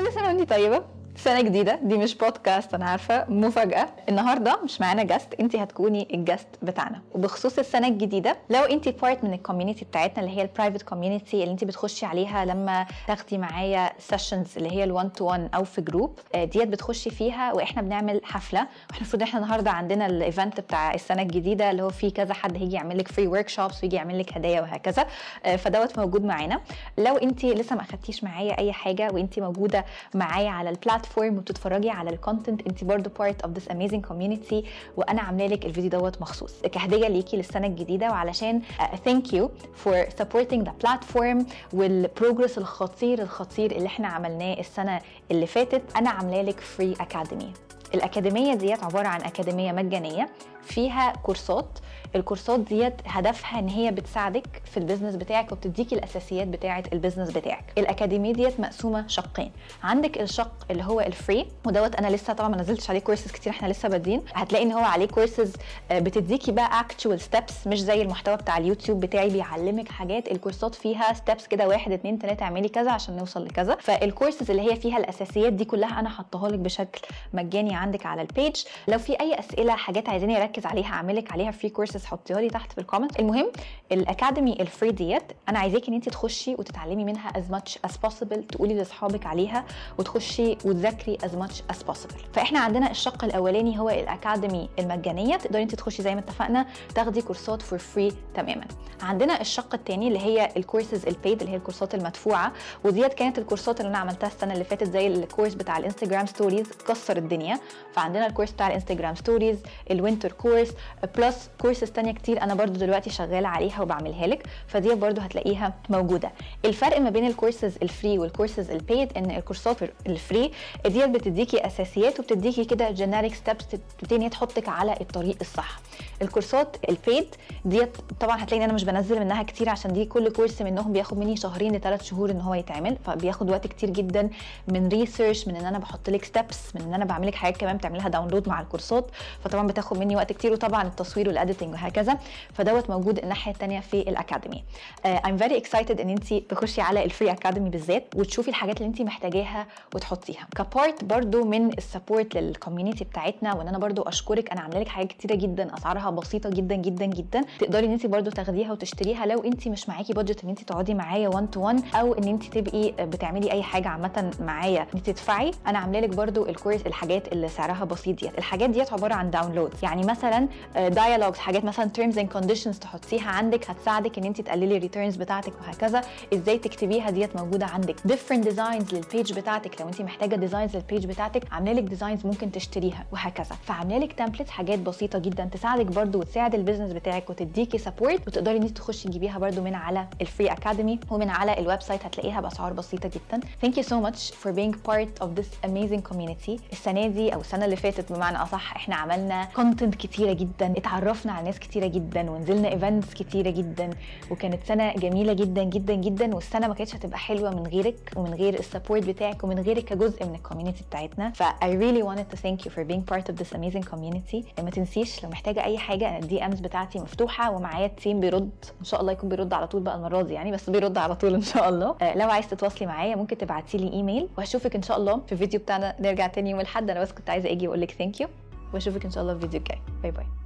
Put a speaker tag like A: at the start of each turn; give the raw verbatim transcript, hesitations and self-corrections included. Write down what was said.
A: كل سنه وانتي طيبه، سنه جديده. دي مش بودكاست، انا عارفه، مفاجاه. النهارده مش معانا جاست، انتي هتكوني الجاست بتاعنا. وبخصوص السنه الجديده، لو انتي بارت من الكوميونتي بتاعتنا اللي هي البرايفت كوميونتي اللي انتي بتخشي عليها لما تاخدي معايا سيشنز اللي هي الوان تو وان او في جروب، ديت بتخشي فيها واحنا بنعمل حفله. واحنا المفروض احنا النهارده عندنا الايفنت بتاع السنه الجديده اللي هو فيه كذا حد هيجي يعمل لك فري ورك شوبس ويجي يعمل لك هدايا وهكذا، فدوت موجود معانا. لو انتي لسه ما اخدتيش معايا اي حاجه وانتي موجوده معايا على البلاتفورم وبتتفرجي على الكونتنت، انت برضو part of this amazing community، وانا عامله لك الفيديو دوت مخصوص كهديه ليكي للسنه الجديده، وعلشان uh, thank you for supporting the platform والبروجرس الخطير الخطير اللي احنا عملناه السنه اللي فاتت. انا عامله لك فري اكاديمي. الاكاديميه ديت عباره عن اكاديميه مجانيه فيها كورسات. الكورسات ديت هدفها ان هي بتساعدك في البيزنس بتاعك وبتديكي الاساسيات بتاعه البيزنس بتاعك. الاكاديميه ديت مقسومه شقين. عندك الشق اللي هو الفري، ودوت انا لسه طبعا ما نزلتش عليه كورسز كتير، احنا لسه بادئين. هتلاقي ان هو عليه كورسز بتديكي بقى اكتوال ستيبس، مش زي المحتوى بتاع اليوتيوب بتاعي بيعلمك حاجات. الكورسات فيها ستيبس كده، واحد اتنين تلاته اعملي كذا عشان نوصل لكذا. فالكورسز اللي هي فيها الاساسيات دي كلها انا حطاها لك بشكل مجاني عندك على البيج. لو في اي اسئله، حاجات عايزيني اركز عليها، اعملك عليها فري كورسز، حطيها لي تحت في الكومنت. المهم الاكاديمي الفري ديت انا عايزاكي ان انت تخشي وتتعلمي منها as much as possible، تقولي لاصحابك عليها وتخشي وتذاكري as much as possible. فاحنا عندنا الشق الاولاني هو الاكاديمي المجانيه، تقدري انت تخشي زي ما اتفقنا تاخدي كورسات فور فري تماما. عندنا الشق الثاني اللي هي الكورسز البيد، اللي هي الكورسات المدفوعه، وديت كانت الكورسات اللي انا عملتها السنه اللي فاتت، زي الكورس بتاع الانستجرام ستوريز كسر الدنيا. فعندنا الكورس بتاع الانستجرام ستوريز، الوينتر كورس، بلس كورسز تانية كتير انا برضو دلوقتي شغاله عليها وبعملها لك، فدي برضو هتلاقيها موجوده. الفرق ما بين الكورسز الفري والكورسز البيد ان الكورسات الفري ديت بتديكي اساسيات وبتديكي كده جينيريك ستيبس تبتدي تحطك على الطريق الصح. الكورسات البيد ديت طبعا هتلاقي ان انا مش بنزل منها كتير، عشان دي كل كورس منهم بياخد مني شهرين لثلاث شهور ان هو يتعمل، فبياخد وقت كتير جدا من ريسيرش، من ان انا بحط لك ستيبس، من ان انا بعمل لك حاجات كمان بتعملها داونلود مع الكورسات، فطبعا بتاخد مني وقت كتير، وطبعا التصوير والاديتنج وهكذا. فدوت موجود الناحيه الثانيه في الاكاديمي. I'm very excited ان انت تخشي على الفري اكاديمي بالذات وتشوفي الحاجات اللي انت محتاجاها وتحطيها كبارت برضو من السبورت للكوميونتي بتاعتنا. وان انا برضو اشكرك، انا عامله لك حاجات كتيره جدا اسعارها بسيطه جدا جدا جدا، تقدري ان انت برضو تاخديها وتشتريها لو انت مش معاكي بادجت ان انت تقعدي معايا وان تو وان، او ان انت تبقي بتعملي اي حاجه عامه معايا انت تدفعي. انا عامله لك برضو الكورس الحاجات اللي سعرها بسيط ديت. الحاجات ديت عباره عن داونلود، يعني مثلا دايالوجز، حاجات مثلا terms and conditions تحطيها عندك هتساعدك ان انت تقللي الريتيرنز بتاعتك وهكذا. ازاي تكتبيها ديت موجوده عندك. different designs للبيج بتاعتك، لو انت محتاجه ديزاينز للبيج بتاعتك عامله لك ديزاينز ممكن تشتريها وهكذا. فعامله لك تمبلت، حاجات بسيطه جدا تساعدك برضو وتساعد البيزنس بتاعك وتديكي سبورت، وتقدري ان انت تخشي تجيبيها برضو من على الفري اكاديمي ومن على الويب سايت، هتلاقيها باسعار بسيطه جدا. thank you so much for being part of this amazing community. السنه دي او السنه اللي فاتت بمعنى اصح احنا عملنا كونتنت كتيره جدا، اتعرفنا على ناس كتيره جدا، ونزلنا ايفنتس كتيره جدا، وكانت سنه جميله جدا جدا جدا. والسنه ما كانتش هتبقى حلوه من غيرك ومن غير السبورت بتاعك ومن غيرك كجزء من الكوميونتي بتاعتنا. ف I really wanted to thank you for being part of this amazing community. ما تنسيش لو محتاجه اي حاجه، انا الدي امز بتاعتي مفتوحه ومعايا التيم بيرد ان شاء الله، يكون بيرد على طول بقى المره دي يعني، بس بيرد على طول ان شاء الله. آه لو عايز تتواصلي معايا ممكن تبعتي لي ايميل، وهشوفك ان شاء الله في الفيديو بتاعنا. نرجع تاني يوم الاحد، انا بس كنت عايزه اجي واقول لك ثانك يو، واشوفك ان شاء الله في الفيديو الجاي. باي باي.